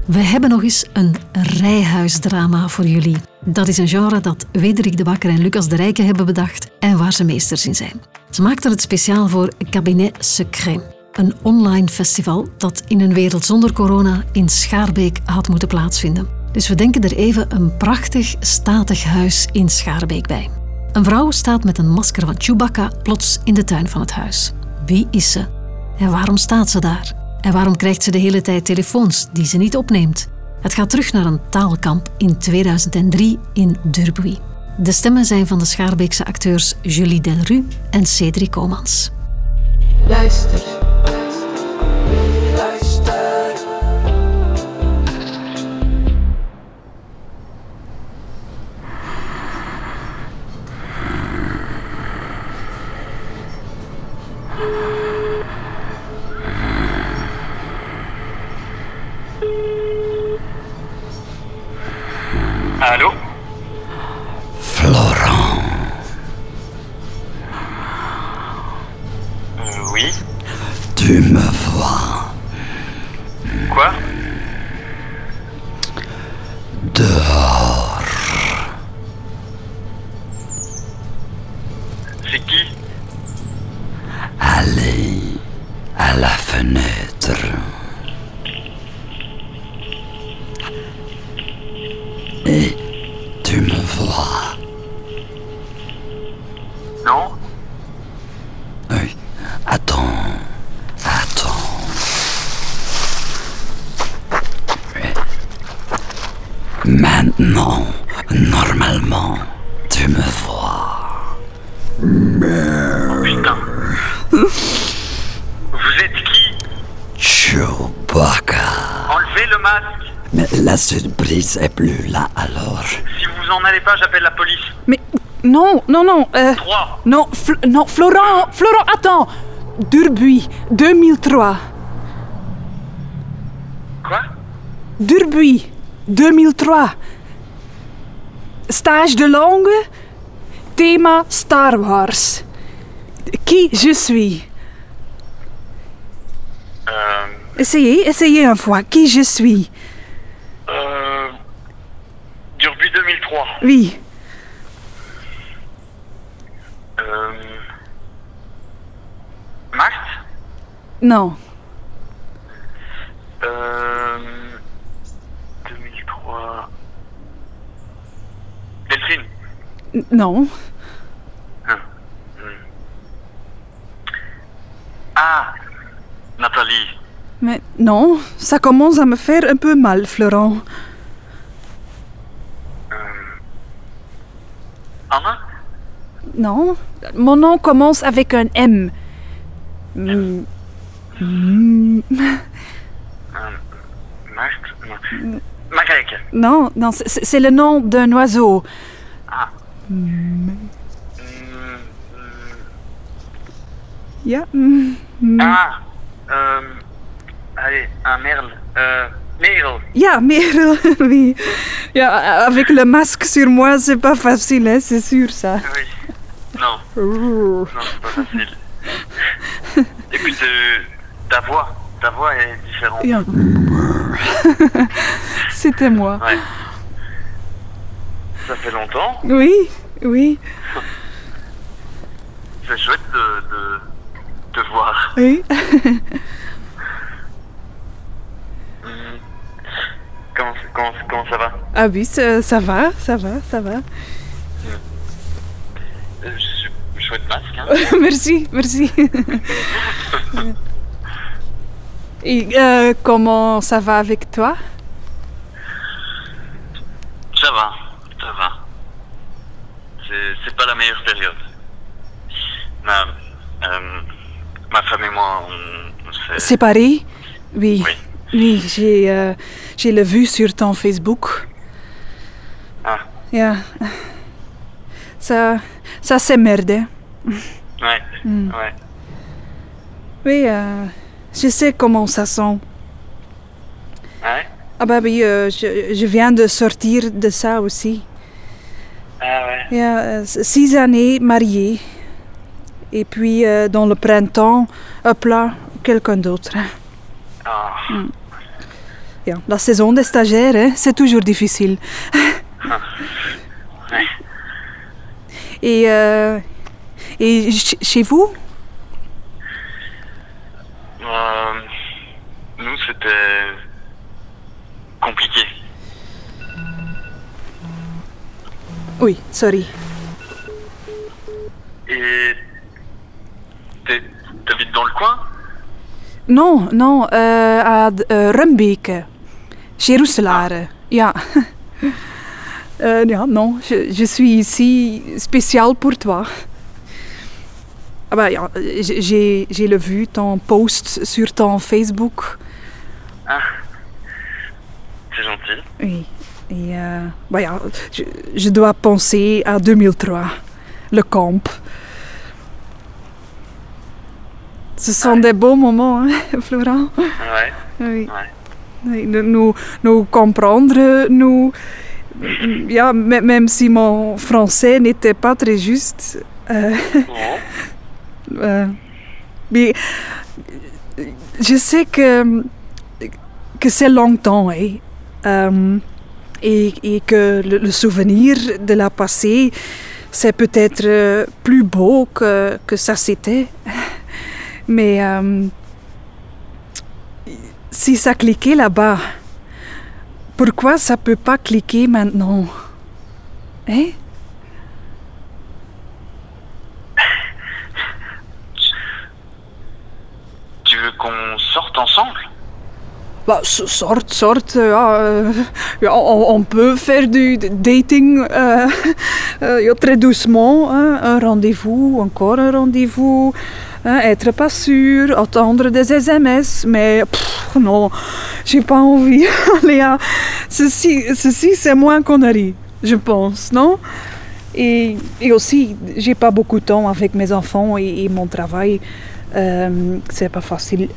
We hebben nog eens een rijhuisdrama voor jullie. Dat is een genre dat Wederik de Bakker en Lucas de Rijke hebben bedacht en waar ze meesters in zijn. Ze maakten het speciaal voor Cabinet Secret, een online festival dat in een wereld zonder corona in Schaarbeek had moeten plaatsvinden. Dus we denken er even een prachtig, statig huis in Schaarbeek bij. Een vrouw staat met een masker van Chewbacca plots in de tuin van het huis. Wie is ze? En waarom staat ze daar? En waarom krijgt ze de hele tijd telefoons die ze niet opneemt? Het gaat terug naar een taalkamp in 2003 in Durbuy. De stemmen zijn van de Schaarbeekse acteurs Julie Delru en Cédric Comans. Luister. Allô? Florent. Oui? Tu me vois Quoi? dehors. C'est qui? Allez à la fenêtre. Et tu me vois? Non? Oui. Attends. Maintenant, normalement, tu me vois. Oh putain. Vous êtes qui? Chewbacca. Enlevez le masque. Mais la surprise est plus là alors. Si vous en allez pas, j'appelle la police. Mais non. 3. Non, Florent, attends. Durbuy, 2003. Quoi? Durbuy, 2003. Stage de langue, thema Star Wars. Qui je suis? Essayez une fois. Qui je suis? Durbuy 2003. Oui. Marthe? Non. 2003... Delphine? Non. Ah! Nathalie? Mais non, ça commence à me faire un peu mal, Florent. Anna? Non, mon nom commence avec un M. Marthe? Non. Marek? Non, c'est le nom d'un oiseau. Ah. Ja. Ah! Allez, un merle. Merel. Ja, Merel, oui. Ja, avec le masque sur moi, c'est pas facile, hein, c'est sûr, ça. Oui. Non. Non, c'est pas facile. Et puis ta voix est différente. Ja. C'était moi. Ouais. Ça fait longtemps. Oui. C'est chouette de te voir. Oui. Comment ça va? Ah oui, ça va. Chouette masque, hein? Merci. Et comment ça va avec toi? Ça va. C'est pas la meilleure période. Ma femme et moi, on s'est... Séparés? Oui. Oui. J'ai le vu sur ton Facebook. Ah. Ja. Ça c'est merde. Ouais. Oui, je sais comment ça sent. Ouais? Ah bah oui, je viens de sortir de ça aussi. Ah ouais. Ja, 6 années mariée. Et puis, dans le printemps, hop là, quelqu'un d'autre. Ah. Ja, la saison des stagiaires, hein, c'est toujours difficile. Ouais. Et chez vous? Nous, c'était compliqué. Oui, sorry. Et t'habites dans le coin? Non, à Rumbeke, chez Roeselare. Ja. Ja, non, je suis ici spécial pour toi. Ah bah, ja, j'ai vu ton post sur ton Facebook. Ah, c'est gentil. Oui. Et bah, ja, je dois penser à 2003, le camp. Ce sont des beaux moments, hein, Florent? Ouais. Oui. Ouais. Oui, nous comprendre, ja, même si mon français n'était pas très juste. Bon. Mais je sais que c'est longtemps, hein, et que le souvenir de la passée, c'est peut-être plus beau que ça c'était. Mais si ça cliquait là-bas, pourquoi ça peut pas cliquer maintenant? Hein? Tu veux qu'on sorte ensemble? Bah, sorte, ja, on peut faire du dating ja, très doucement, hein, un rendez-vous, encore un rendez-vous, hein, être pas sûr, attendre des SMS, mais non, j'ai pas envie. Léa, ceci c'est moins connerie, je pense, non? Et aussi, j'ai pas beaucoup de temps avec mes enfants et mon travail, c'est pas facile.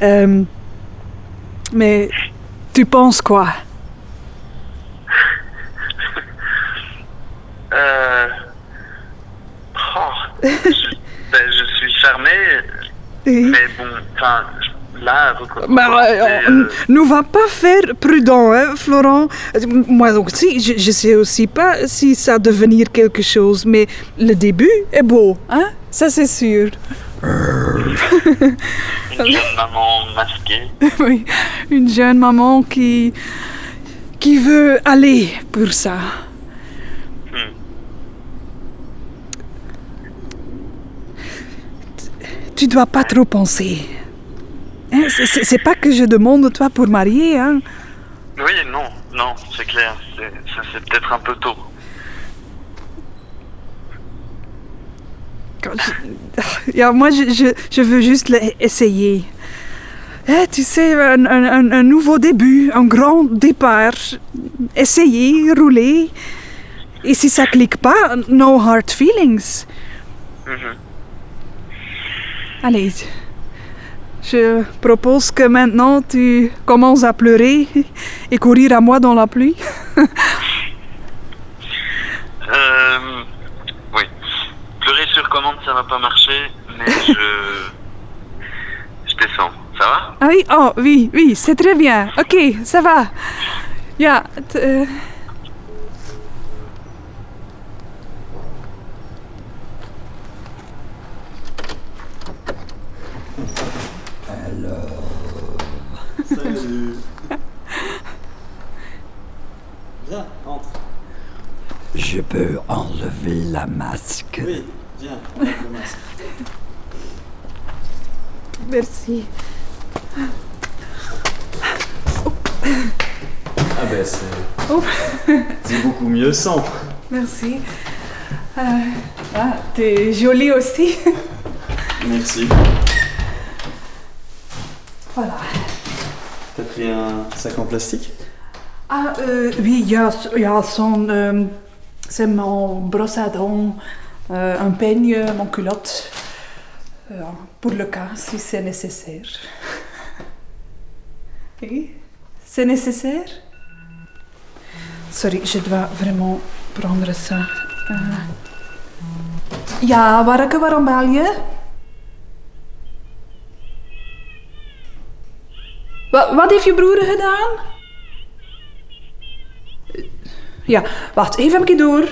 Mais tu penses quoi? Je suis fermé, Oui. mais bon, enfin, là, ne va pas faire prudent, hein, Florent. Moi aussi, je sais aussi pas si ça va devenir quelque chose, mais le début est beau, hein? Ça c'est sûr. Une jeune maman masquée. Oui, une jeune maman qui veut aller pour ça. Tu dois pas trop penser. Hein, c'est pas que je demande toi pour marier, hein. Oui, non, c'est clair. C'est peut-être un peu tôt. Ja, moi, je veux juste essayer. Tu sais, un nouveau début, un grand départ. Essayer, rouler. Et si ça clique pas, no hard feelings. Allez, je propose que maintenant tu commences à pleurer et courir à moi dans la pluie. Oui. Pleurer sur commande, ça va pas marcher, mais je descends. Ça va? Ah oui, oh oui, c'est très bien. Ok, ça va. Ja, Salut. Viens, entre. Je peux enlever la masque. Oui, viens, enlève le masque. merci. Ah ben c'est beaucoup mieux sans. Merci. T'es jolie aussi. Merci. Voilà. T'as pris un sac en plastique? Ah, oui, ja, c'est mon brosse à dents, un peigne, mon culotte, pour le cas si c'est nécessaire. Oui, c'est nécessaire? Sorry, je dois vraiment prendre ça. Ja, Warke, waarom bel je? Wat heeft je broer gedaan? Ja, wacht, even een keer door.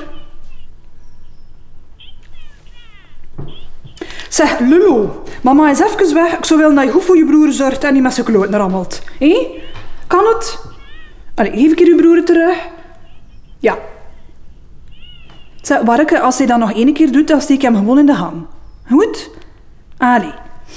Zeg, Lulu, mama is even weg. Ik zou willen dat je goed voor je broer zorgt en niet met zijn kloten rammelt. Kan het? Allee, geef ik je broer terug. Ja. Zeg, Warke, als hij dat nog 1 keer doet, dan steek ik hem gewoon in de gang. Goed? Allee.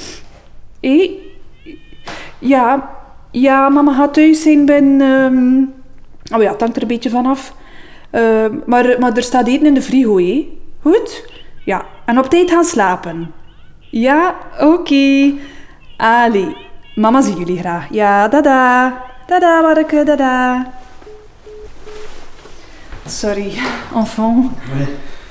Ja, mama gaat thuis zijn binnen... Oh ja, het hangt er een beetje vanaf. Maar er staat eten in de frigo, hè? Goed? Ja, en op tijd gaan slapen. Ja, oké. Allee, mama zie jullie graag. Ja, dada. Dada, Warke, dada. Sorry, enfant. Ouais.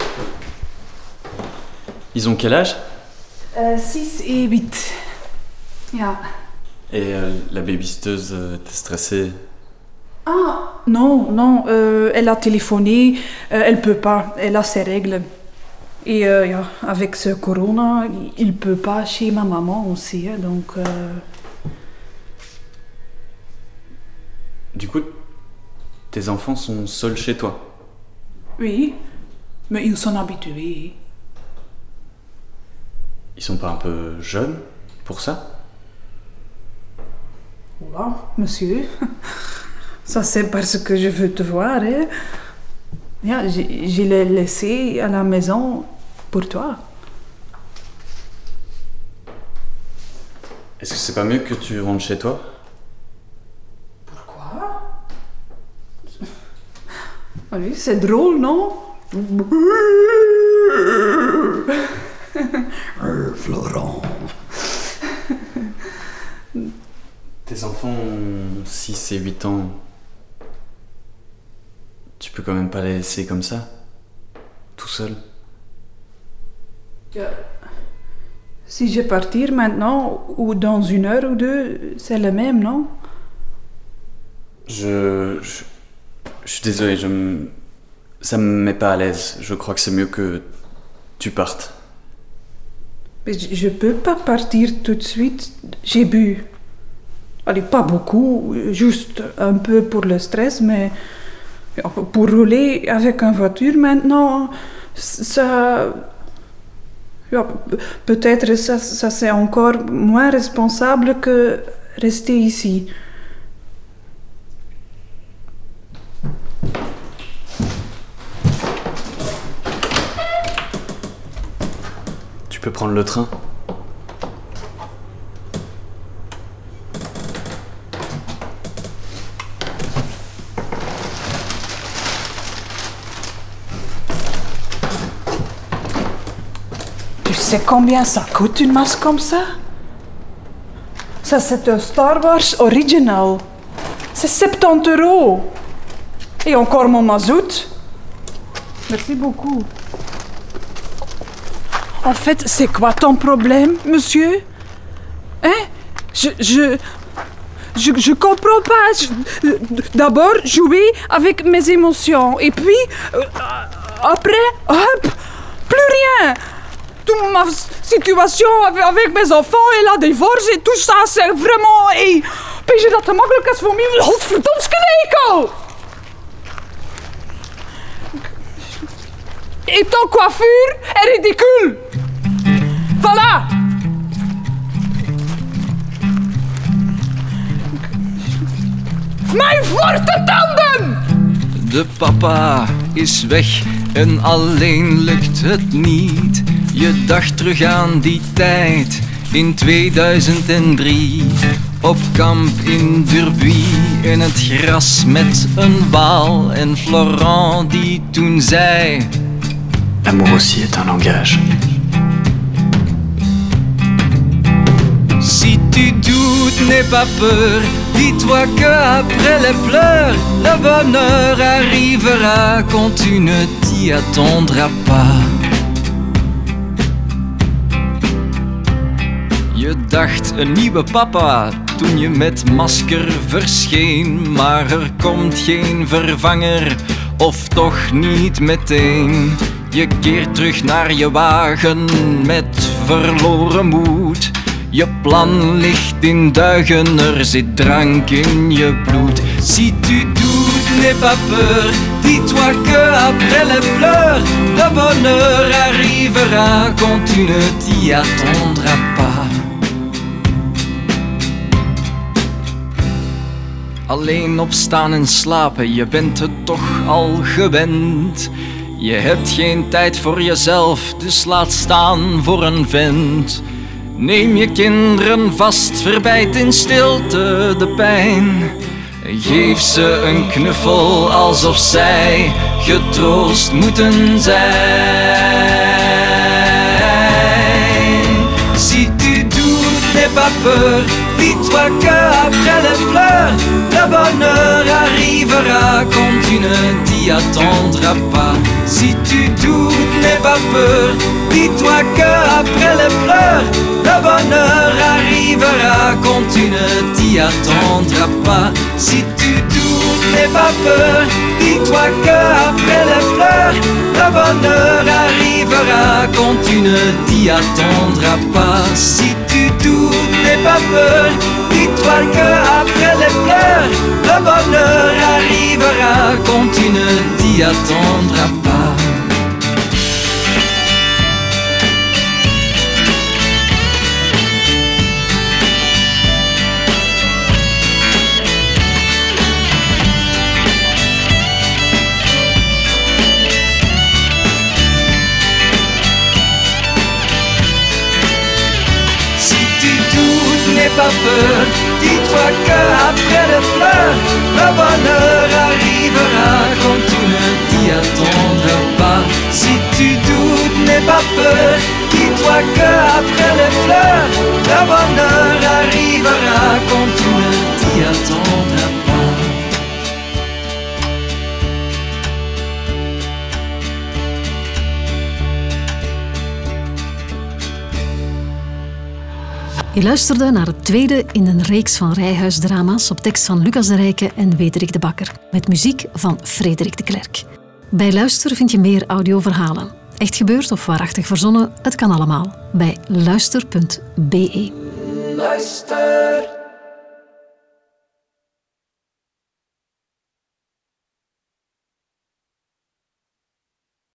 Ils ont quel âge? 6 et 8. Ja. Et la babysitteuse, t'es stressée? Ah, non, elle a téléphoné, elle peut pas, elle a ses règles. Et ja, avec ce corona, il peut pas chez ma maman aussi, hein, donc... Du coup, tes enfants sont seuls chez toi? Oui, mais ils sont habitués. Ils sont pas un peu jeunes pour ça? Oula, monsieur, ça c'est parce que je veux te voir, hein. Ja, je l'ai laissé à la maison pour toi. Est-ce que c'est pas mieux que tu rentres chez toi? Pourquoi? Allez, c'est drôle, non? Florent. Tes enfants ont 6 et 8 ans. Tu peux quand même pas les laisser comme ça, tout seul. Ja. Si je partir maintenant, ou dans 1 heure ou 2, c'est le même, non? Je suis désolé, ça me met pas à l'aise. Je crois que c'est mieux que tu partes. Mais je peux pas partir tout de suite. J'ai bu. Allez, pas beaucoup, juste un peu pour le stress, mais pour rouler avec une voiture maintenant, ça... Ja, peut-être ça c'est encore moins responsable que rester ici. Tu peux prendre le train. Tu sais combien ça coûte une masque comme ça? Ça c'est un Star Wars original. C'est 70 €. Et encore mon mazout. Merci beaucoup. En fait, c'est quoi ton problème, monsieur? Hein? Je comprends pas. D'abord, jouer avec mes émotions. Et puis, après, hop, plus rien. Toute ma situation avec mes enfants et la divorce et tout ça, c'est vraiment... Hey, weet je dat te makkelijk is voor mij? Godverdomske nekel! Et ton coiffure est ridicule. Voilà. Mijn vortentanden! De papa is weg en alleen lukt het niet. Je dacht terug aan die tijd in 2003. Op kamp in Durbuy in het gras met een waal. En Florent die toen zei... L'amour aussi est un langage. Si tu doutes, n'aie pas peur. Dis-toi qu'après les pleurs, le bonheur arrivera quand tu ne t'y attendras pas. Je dacht een nieuwe papa toen je met masker verscheen. Maar er komt geen vervanger, of toch niet meteen. Je keert terug naar je wagen met verloren moed. Je plan ligt in duigen, er zit drank in je bloed. Si tu doutes, n'aie pas peur. Dis-toi que après les pleurs, le bonheur arrivera quand tu ne t'y attendras pas. Alleen opstaan en slapen, je bent het toch al gewend. Je hebt geen tijd voor jezelf, dus laat staan voor een vent. Neem je kinderen vast, verbijt in stilte de pijn. Geef ze een knuffel alsof zij getroost moeten zijn. Si tu doutes, n'aie pas peur, dis-toi que après les fleurs, le bonheur arrivera quand tu ne t'y attendras pas. Si tu doutes, n'aie pas peur, dis-toi que après les pleurs, le bonheur arrivera quand tu ne t'y attendras pas. Si tu doutes, n'aie pas peur, dis-toi que après les pleurs, le bonheur arrivera quand tu ne t'y attendras pas. Si tu doutes, n'aie pas peur, dis-toi que après les pleurs, le bonheur arrivera quand tu ne t'y attendras pas. N'aie pas peur, dis-toi qu'après les fleurs, le bonheur arrivera quand tu ne t'y attendras pas. Si tu doutes, n'aie pas peur, dis-toi qu'après les fleurs, le bonheur arrivera quand tu ne t'y attendras pas. Je luisterde naar het tweede in een reeks van Rijhuisdrama's op tekst van Lucas de Rijke en Wederik de Bakker, met muziek van Frederik de Klerk. Bij Luister vind je meer audioverhalen. Echt gebeurd of waarachtig verzonnen, het kan allemaal bij luister.be. Luister.